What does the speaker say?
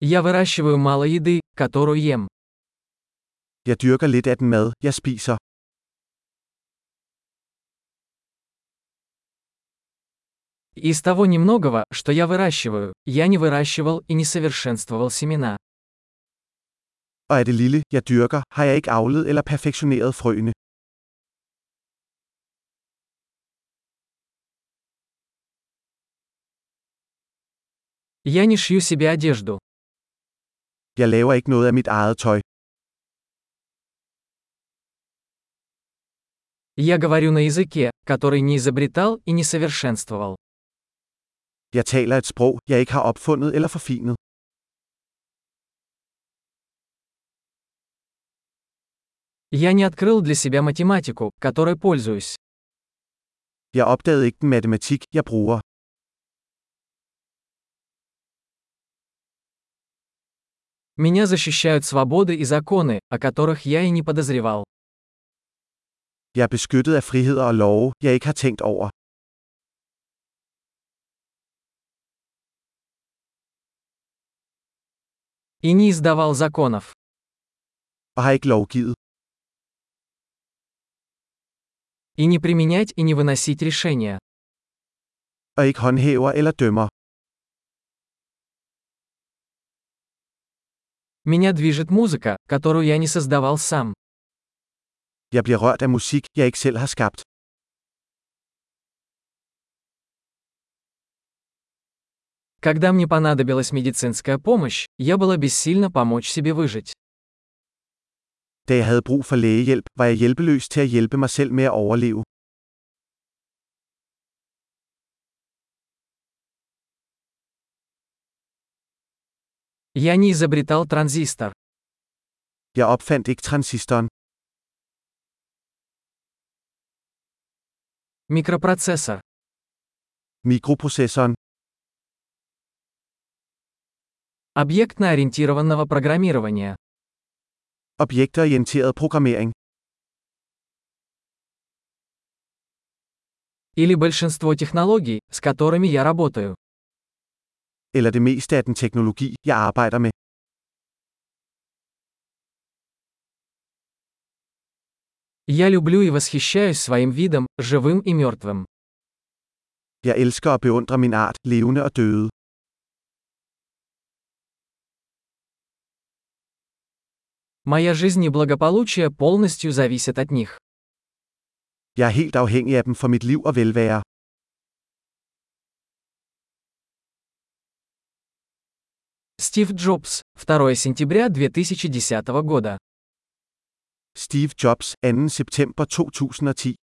Я выращиваю мало еды, которую ем. Jeg dyrker lidt af den mad, jeg spiser. Из того немногого, что я выращиваю, я не выращивал и не совершенствовал семена. Og af det lille, jeg dyrker, har jeg ikke avlet eller perfektioneret frøene. Я не шью себе одежду. Jeg laver ikke noget af mit eget tøj. Я говорю на языке, который не изобретал и не совершенствовал. Jeg taler et sprog, jeg ikke har opfundet eller forfinet. Я не открыл для себя математику, которой пользуюсь. Jeg opdagede ikke den matematik, jeg bruger. Меня защищают свободы и законы, о которых я и не подозревал. Jeg er beskyttet af friheder og love, jeg ikke har tænkt over. И не издавал законов. Og har ikke lovgivet. И не применять и не выносить решения. Og ikke håndhæver eller dømmer. Меня движет музыка, которую я не создавал сам. Jeg bliver rørt af musik, jeg ikke selv har skabt. Когда мне понадобилась медицинская помощь, я была бессильна помочь себе выжить. Da jeg havde brug for lægehjælp, var jeg hjælpeløs til at hjælpe mig selv med at overleve. Я не изобретал транзистор. Jeg opfandt ikke transistoren. Микропроцессор. Mikroprocessoren. Объектно-ориентированного программирования. Objektorienteret programmering. Или большинство технологий, с которыми я работаю. Eller det meste af den teknologi, jeg arbejder med. Я люблю и восхищаюсь своим видом, живым и мертвым. Jeg elsker og beundrer min art, levende og døde. Моя жизнь и благополучие полностью зависят от них. Jeg er helt afhængig af dem for mit liv og velvære. Стив Джобс, 2 сентября 2010 года. Steve Jobs, 2. september 2010